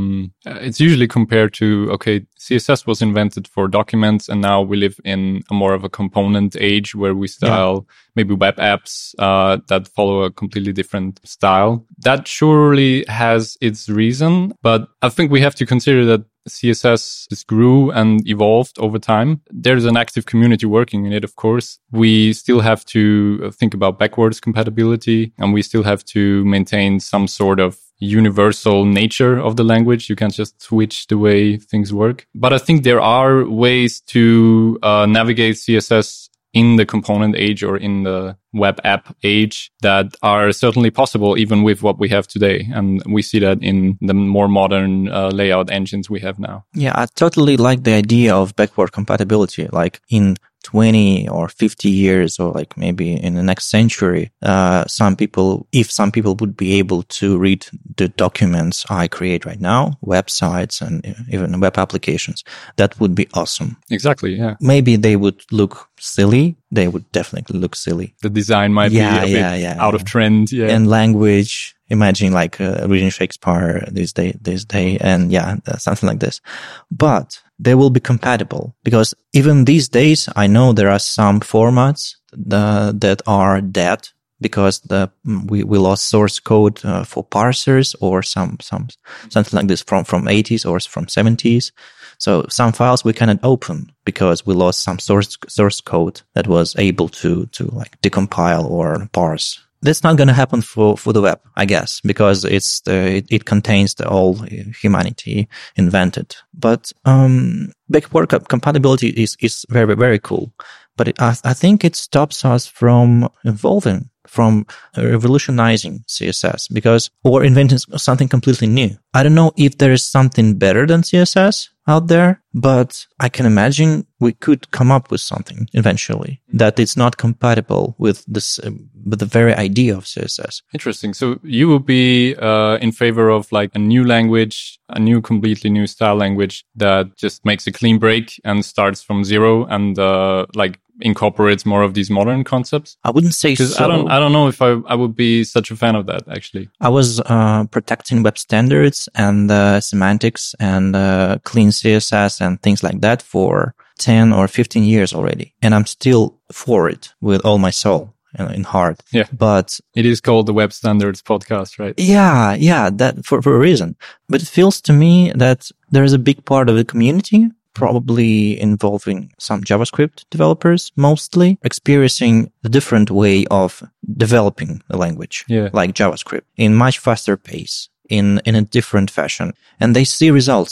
it's usually compared to, okay, CSS was invented for documents and now we live in a more of a component age where we style maybe web apps that follow a completely different style. That surely has its reason, but I think we have to consider that CSS just grew and evolved over time. There's an active community working in it, of course. We still have to think about backwards compatibility, and we still have to maintain some sort of universal nature of the language. You can't just switch the way things work. But I think there are ways to navigate CSS in the component age or in the web app age that are certainly possible even with what we have today. And we see that in the more modern layout engines we have now. Yeah, I totally like the idea of backward compatibility. Like in 20 or 50 years, or like maybe in the next century, if some people would be able to read the documents I create right now, websites and even web applications, that would be awesome. Exactly, yeah. Maybe they would look silly. They would definitely look silly. The design might be a bit out of trend. Yeah. And language, imagine like reading Shakespeare this day, and something like this. But they will be compatible, because even these days, I know there are some formats that are dead because we lost source code for parsers or something like this from 80s or from 70s. So some files we cannot open because we lost some source code that was able to like decompile or parse. That's not going to happen for the web, I guess, because it contains the whole humanity invented. But backward compatibility is very, very cool. But I think it stops us from evolving, from revolutionizing CSS, or inventing something completely new. I don't know if there is something better than CSS out there, but I can imagine we could come up with something eventually that it's not compatible with this, with the very idea of CSS. Interesting. So you would be in favor of like a new language, a completely new style language that just makes a clean break and starts from zero and like incorporates more of these modern concepts? I wouldn't say so. Because I don't know if I would be such a fan of that, actually. I was protecting web standards and semantics and clean CSS and things like that for 10 or 15 years already. And I'm still for it with all my soul in heart. Yeah. But it is called the Web Standards Podcast, right? Yeah, that for a reason. But it feels to me that there is a big part of the community, probably involving some JavaScript developers, mostly experiencing the different way of developing the language, like JavaScript, in much faster pace, in a different fashion. And they see results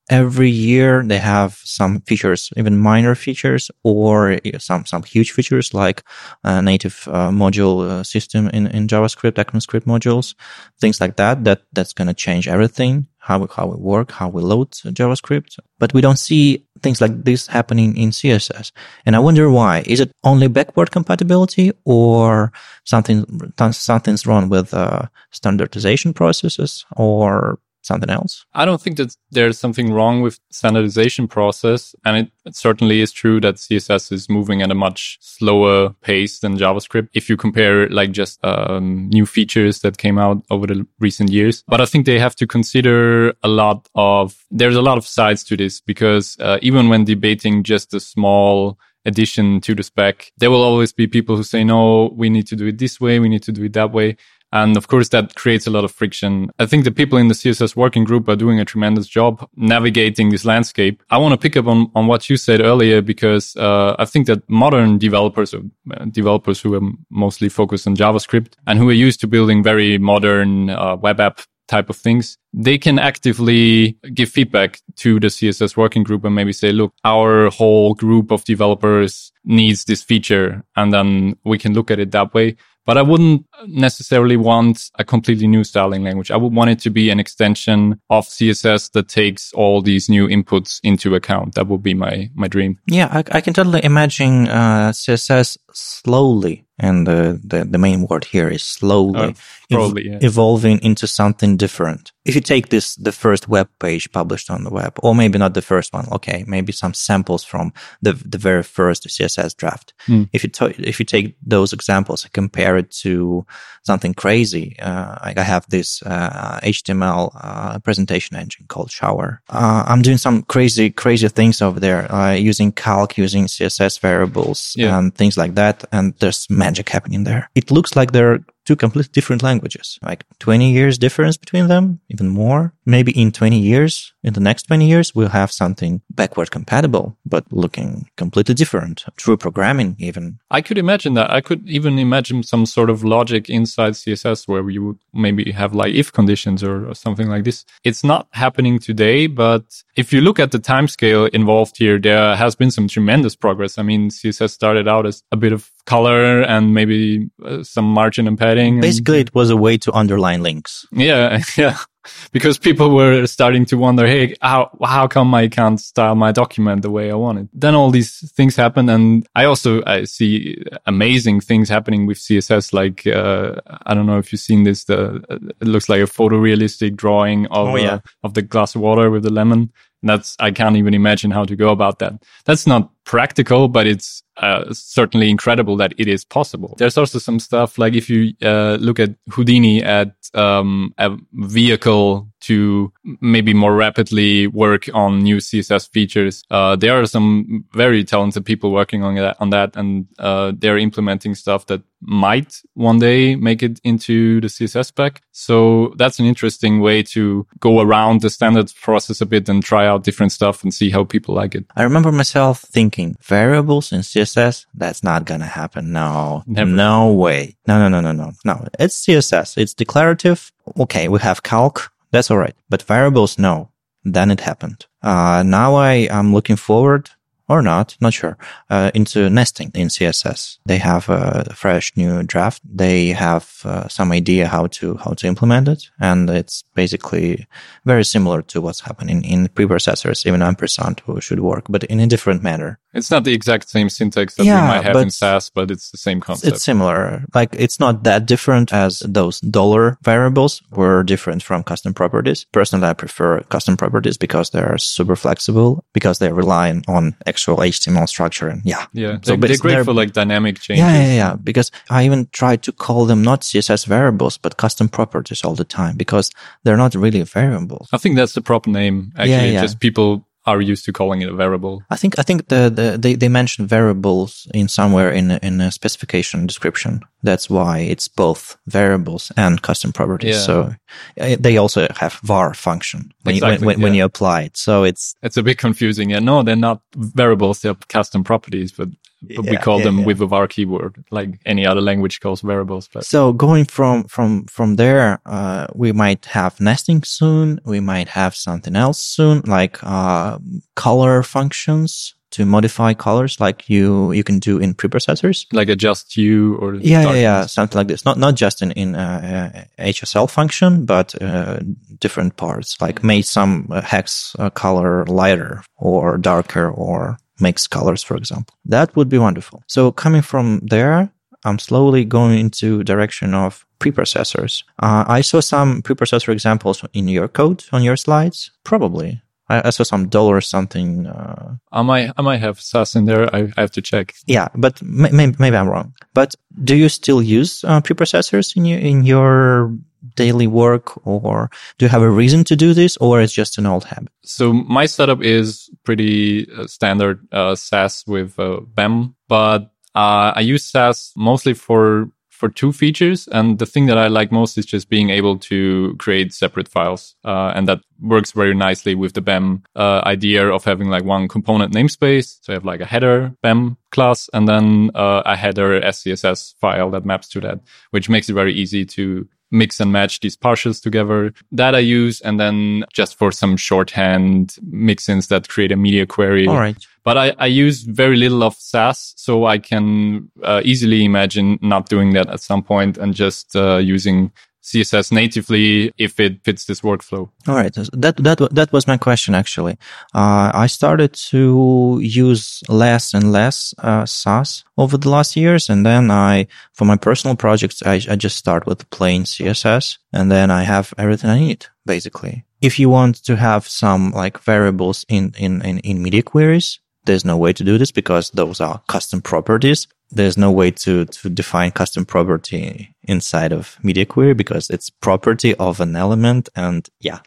every year they have some features, even minor features, or some huge features like native module system in JavaScript, ECMAScript modules, things like that's going to change everything, how we work, how we load JavaScript. But we don't see things like this happening in CSS. And I wonder why. Is it only backward compatibility, or something's wrong with standardization processes, or something else? I don't think that there's something wrong with standardization process. And it certainly is true that CSS is moving at a much slower pace than JavaScript if you compare like just new features that came out over the recent years. But I think they have to consider there's a lot of sides to this, because even when debating just a small addition to the spec, there will always be people who say, no, we need to do it this way, we need to do it that way. And of course, that creates a lot of friction. I think the people in the CSS working group are doing a tremendous job navigating this landscape. I want to pick up on what you said earlier, because I think that modern developers, or developers who are mostly focused on JavaScript and who are used to building very modern web app type of things, they can actively give feedback to the CSS working group and maybe say, look, our whole group of developers needs this feature, and then we can look at it that way. But I wouldn't necessarily want a completely new styling language. I would want it to be an extension of CSS that takes all these new inputs into account. That would be my dream. Yeah, I can totally imagine CSS slowly, and the main word here is slowly, evolving into something different. If you take the first web page published on the web, or maybe not the first one, okay, maybe some samples from the very first CSS draft. If you take those examples and compare it to something crazy, like I have this HTML presentation engine called Shower. I'm doing some crazy things over there, using calc, using CSS variables, and things like that, and there's magic happening there. It looks like they're two completely different languages, like 20 years difference between them, even more. Maybe in the next 20 years, we'll have something backward compatible, but looking completely different. True programming, even. I could imagine that. I could even imagine some sort of logic inside CSS where you would maybe have like if conditions or something like this. It's not happening today, but if you look at the timescale involved here, there has been some tremendous progress. I mean, CSS started out as a bit of color and maybe some margin and padding. Basically, it was a way to underline links. Yeah. Because people were starting to wonder, hey, how come I can't style my document the way I want it? Then all these things happen. And I see amazing things happening with CSS. Like, I don't know if you've seen this, it looks like a photorealistic drawing of the glass of water with the lemon. I can't even imagine how to go about that. That's not practical, but it's certainly incredible that it is possible. There's also some stuff like if you look at Houdini at a vehicle to maybe more rapidly work on new CSS features. There are some very talented people working on that, and they're implementing stuff that might one day make it into the CSS spec. So that's an interesting way to go around the standard process a bit and try out different stuff and see how people like it. I remember myself thinking, variables in CSS, that's not gonna happen. No, never. No way. No. It's CSS. It's declarative. Okay, we have calc. That's all right. But variables, no. Then it happened. Now I am looking forward, or not sure, into nesting in CSS. They have a fresh new draft. They have some idea how to implement it. And it's basically very similar to what's happening in preprocessors. Even ampersand should work, but in a different manner. It's not the exact same syntax that we might have in Sass, but it's the same concept. It's similar. Like, it's not that different as those dollar variables were different from custom properties. Personally, I prefer custom properties because they're super flexible, because they're relying on actual HTML structure. And so they're great for like dynamic changes. Yeah. Because I even try to call them not CSS variables, but custom properties all the time, because they're not really variables. I think that's the proper name. Actually, just people are used to calling it a variable. I think they mentioned variables in somewhere in a specification description. That's why it's both variables and custom properties. Yeah. So they also have var function when you apply it. So it's a bit confusing. Yeah, no, they're not variables; they're custom properties, but we call them with a var keyword, like any other language calls variables. But so going from there, we might have nesting soon. We might have something else soon, like color functions to modify colors, like you can do in preprocessors, like adjust hue or something like this. Not just in HSL function, but different parts, like make some hex color lighter or darker or mix colors, for example. That would be wonderful. So coming from there, I'm slowly going into direction of preprocessors. I saw some preprocessor examples in your code on your slides. Probably. I saw some dollar something. I might have SAS in there. I have to check. Yeah, but maybe I'm wrong. But do you still use preprocessors in your daily work, or do you have a reason to do this, or it's just an old habit? So my setup is pretty standard SAS with BEM, but I use SAS mostly for two features. And the thing that I like most is just being able to create separate files. And that works very nicely with the BEM idea of having like one component namespace. So I have like a header BEM class and then a header SCSS file that maps to that, which makes it very easy to mix and match these partials together. That I use. And then just for some shorthand mix-ins that create a media query. All right. But I use very little of SAS, so I can easily imagine not doing that at some point and just using CSS natively if it fits this workflow. All right. That was my question, actually. I started to use less and less SAS over the last years. And then for my personal projects, I just start with plain CSS. And then I have everything I need, basically. If you want to have some like variables in media queries, there's no way to do this because those are custom properties. There's no way to define custom property inside of media query because it's property of an element, and yeah.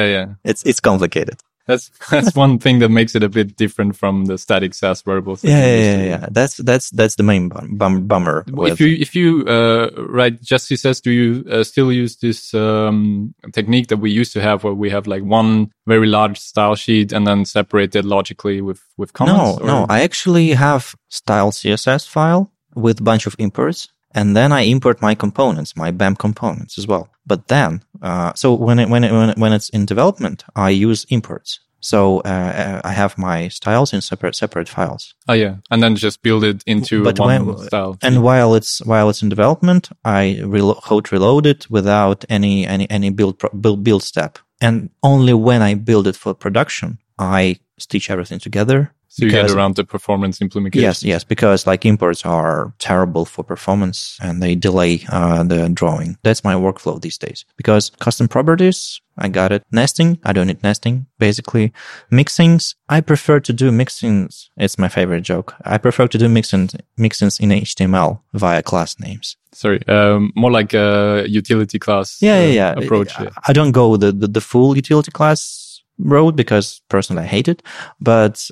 It's complicated. That's one thing that makes it a bit different from the static SAS variables. Yeah. That's the main bummer. If you write just CSS, do you still use this technique that we used to have, where we have like one very large style sheet and then separate it logically with comments? No. I actually have style CSS file with a bunch of imports. And then I import my components, my BEM components as well. But then, so when it's in development, I use imports. So I have my styles in separate files. Oh yeah, and then just build it into one style. And while it's in development, I hot reload it without any build step. And only when I build it for production, I stitch everything together. So you get around the performance implementation. Yes, because like imports are terrible for performance and they delay the drawing. That's my workflow these days. Because custom properties, I got it. Nesting, I don't need nesting, basically. Mixins, I prefer to do mixins. It's my favorite joke. I prefer to do mixins in HTML via class names. Sorry, more like a utility class approach. I don't go the full utility class road because personally I hate it, but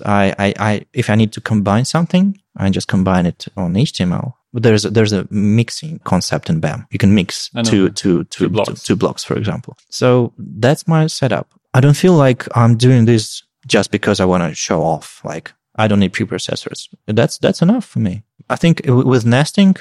I if I need to combine something, I just combine it on HTML. But there's a mixing concept in BEM. You can mix two blocks, for example. So that's my setup. I don't feel like I'm doing this just because I want to show off. Like I don't need preprocessors. That's enough for me. I think with nesting,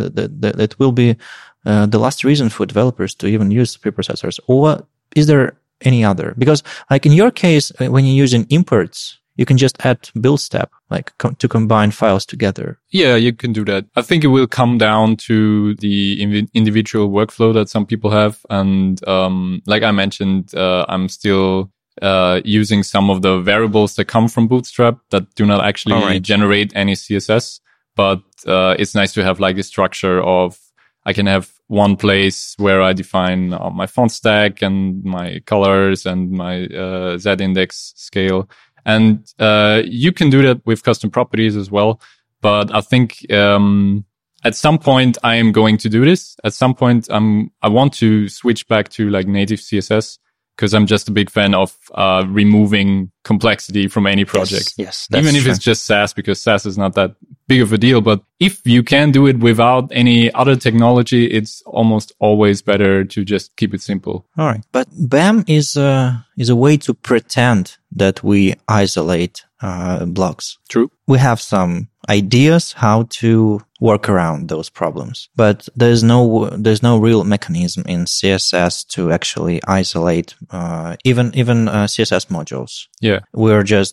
it will be the last reason for developers to even use preprocessors. Or is there any other? Because like in your case, when you're using imports, you can just add build step, like to combine files together. Yeah, you can do that. I think it will come down to the individual workflow that some people have. And like I mentioned, I'm still using some of the variables that come from Bootstrap that do not actually generate any CSS. But it's nice to have like a structure of, I can have one place where I define my font stack and my colors and my Z-index scale. And you can do that with custom properties as well. But I think at some point I am going to do this. At some point I want to switch back to like native CSS, because I'm just a big fan of removing complexity from any project. Yes, even if it's just Sass, because Sass is not that big of a deal. But if you can do it without any other technology, it's almost always better to just keep it simple. All right. But BEM is a way to pretend that we isolate blocks. True. We have some ideas how to work around those problems, but there's no real mechanism in CSS to actually isolate even CSS modules. Yeah. We're just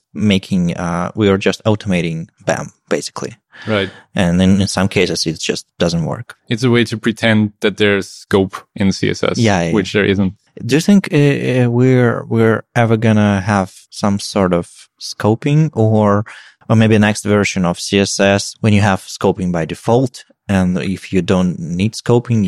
automating BEM basically. Right. And in some cases, it just doesn't work. It's a way to pretend that there's scope in CSS, which there isn't. Do you think we're ever gonna have some sort of scoping or maybe a next version of CSS when you have scoping by default? And if you don't need scoping,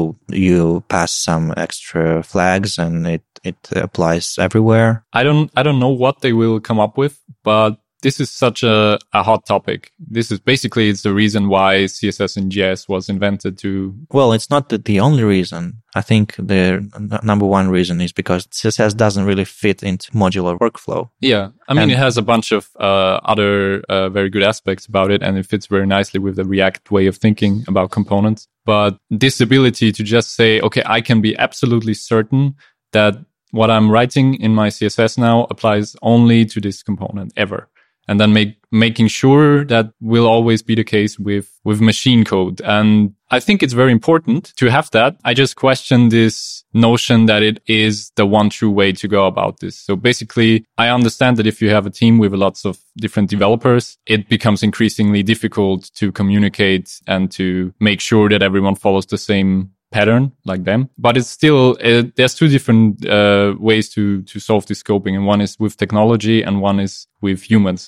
you pass some extra flags and it applies everywhere. I don't know what they will come up with, but this is such a hot topic. This is basically, it's the reason why CSS in JS was invented to... Well, it's not the only reason. I think the number one reason is because CSS doesn't really fit into modular workflow. Yeah. I mean, it has a bunch of other very good aspects about it, and it fits very nicely with the React way of thinking about components. But this ability to just say, okay, I can be absolutely certain that what I'm writing in my CSS now applies only to this component ever. And then making sure that will always be the case with machine code. And I think it's very important to have that. I just question this notion that it is the one true way to go about this. So basically, I understand that if you have a team with lots of different developers, it becomes increasingly difficult to communicate and to make sure that everyone follows the same pattern like them. But it's still, there's two different ways to solve this scoping. And one is with technology and one is with humans.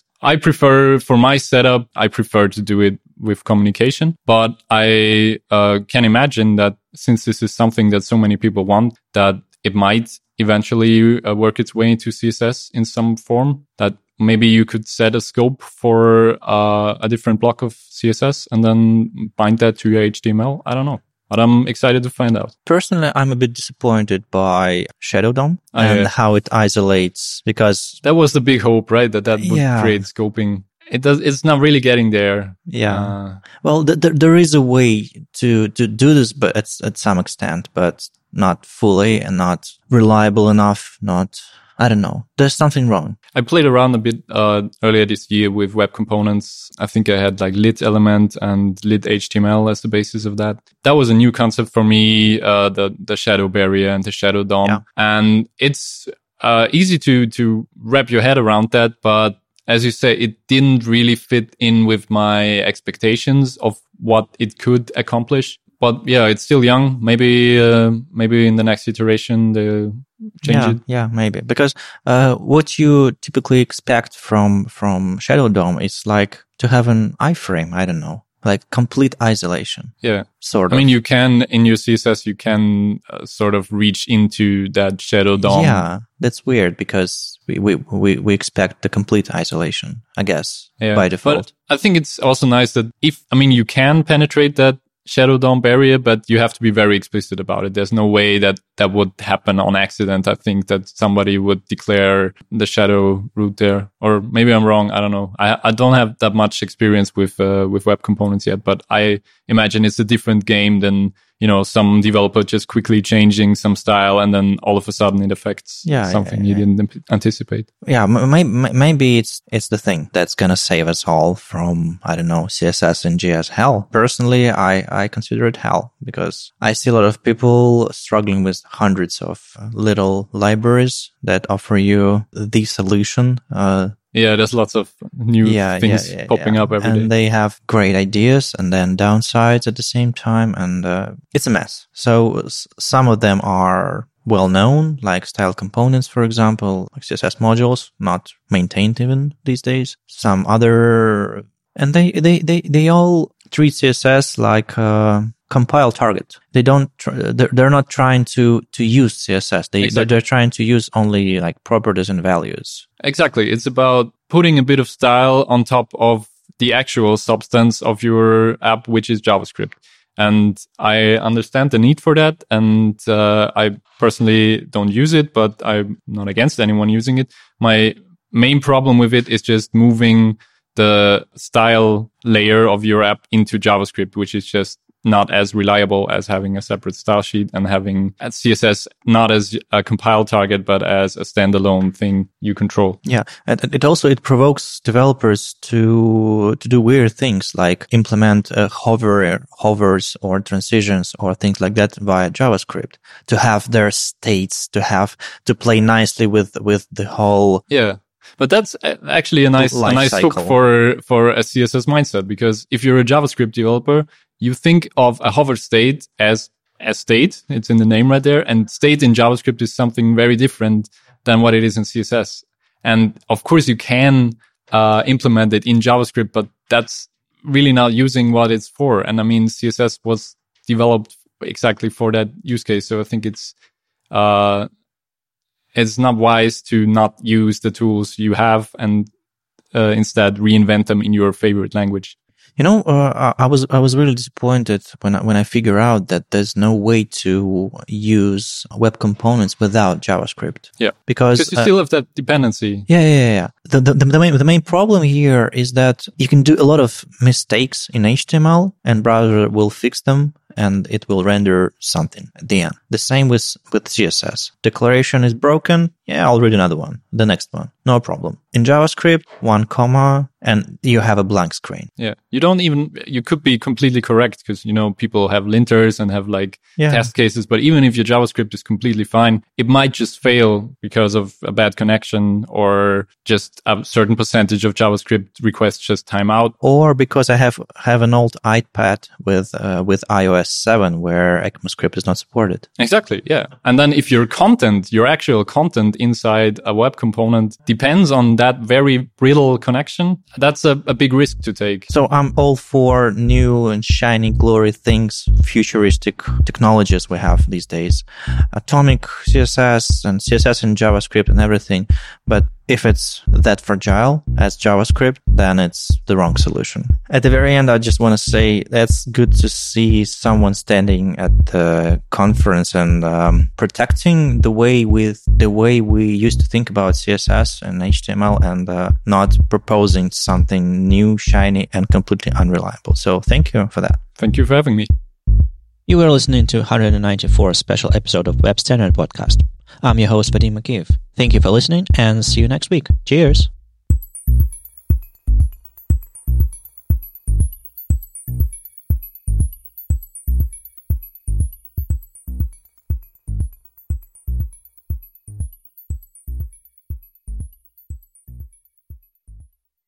For my setup, I prefer to do it with communication. But I can imagine that since this is something that so many people want, that it might eventually work its way into CSS in some form, that maybe you could set a scope for a different block of CSS and then bind that to your HTML. I don't know. But I'm excited to find out. Personally, I'm a bit disappointed by Shadow DOM and how it isolates, because that was the big hope, right? That would create scoping. It's not really getting there. Yeah. Well, there is a way to do this, but at some extent, but not fully and not reliable enough. I don't know. There's something wrong. I played around a bit earlier this year with web components. I think I had like lit element and lit HTML as the basis of that. That was a new concept for me, the shadow barrier and the shadow DOM. Yeah. And it's easy to wrap your head around that. But as you say, it didn't really fit in with my expectations of what it could accomplish. But yeah, it's still young. Maybe in the next iteration they'll change it. Yeah, maybe. Because what you typically expect from Shadow DOM is like to have an iframe. I don't know, like complete isolation. Yeah, sort of. I mean, you can in your CSS you can sort of reach into that Shadow DOM. Yeah, that's weird because we expect the complete isolation, I guess, by default. But I think it's also nice that you can penetrate that Shadow DOM barrier, but you have to be very explicit about it. There's no way that would happen on accident. I think that somebody would declare the shadow root there, or maybe I'm wrong. I don't know. I don't have that much experience with web components yet, but I imagine it's a different game than, some developer just quickly changing some style and then all of a sudden it affects something you didn't anticipate. Yeah, maybe it's the thing that's gonna save us all from, I don't know, CSS and JS hell. Personally, I consider it hell because I see a lot of people struggling with hundreds of little libraries that offer you the solution. There's lots of new things popping up every day. And they have great ideas and then downsides at the same time. And it's a mess. So some of them are well known, like style components, for example, like CSS modules, not maintained even these days. Some other, and they all treat CSS like compile target. They're not trying to use CSS. They're trying to use only like properties and values. Exactly. It's about putting a bit of style on top of the actual substance of your app, which is JavaScript. And I understand the need for that. And I personally don't use it, but I'm not against anyone using it. My main problem with it is just moving the style layer of your app into JavaScript, which is just not as reliable as having a separate style sheet and having CSS not as a compile target, but as a standalone thing you control. Yeah. And it provokes developers to do weird things like implement hovers or transitions or things like that via JavaScript, to have their states, to play nicely with the whole. Yeah. But that's actually a nice hook for a CSS mindset, because if you're a JavaScript developer, you think of a hover state as a state. It's in the name right there. And state in JavaScript is something very different than what it is in CSS. And of course you can implement it in JavaScript, but that's really not using what it's for. And I mean, CSS was developed exactly for that use case. So I think it's not wise to not use the tools you have and instead reinvent them in your favorite language. You know, I was really disappointed when I figure out that there's no way to use web components without JavaScript. Yeah, because you still have that dependency. Yeah. The main problem here is that you can do a lot of mistakes in HTML, and browser will fix them, and it will render something at the end. The same with CSS. Declaration is broken. Yeah, I'll read another one. The next one. No problem. In JavaScript, 1 comma, and you have a blank screen. Yeah. You could be completely correct because, people have linters and have test cases. But even if your JavaScript is completely fine, it might just fail because of a bad connection, or just a certain percentage of JavaScript requests just time out. Or because I have an old iPad with iOS 7 where ECMAScript is not supported. Exactly. Yeah. And then if your actual content inside a web component depends on that very brittle connection, that's a big risk to take. So I'm all for new and shiny glory things, futuristic technologies we have these days, atomic CSS and CSS in JavaScript and everything. But if it's that fragile as JavaScript, then it's the wrong solution. At the very end, I just want to say that's good to see someone standing at the conference and protecting the way we used to think about CSS and HTML, and not proposing something new, shiny, and completely unreliable. So thank you for that. Thank you for having me. You were listening to 194th special episode of Web Standard Podcast. I'm your host, Vadim Makiv. Thank you for listening, and see you next week. Cheers!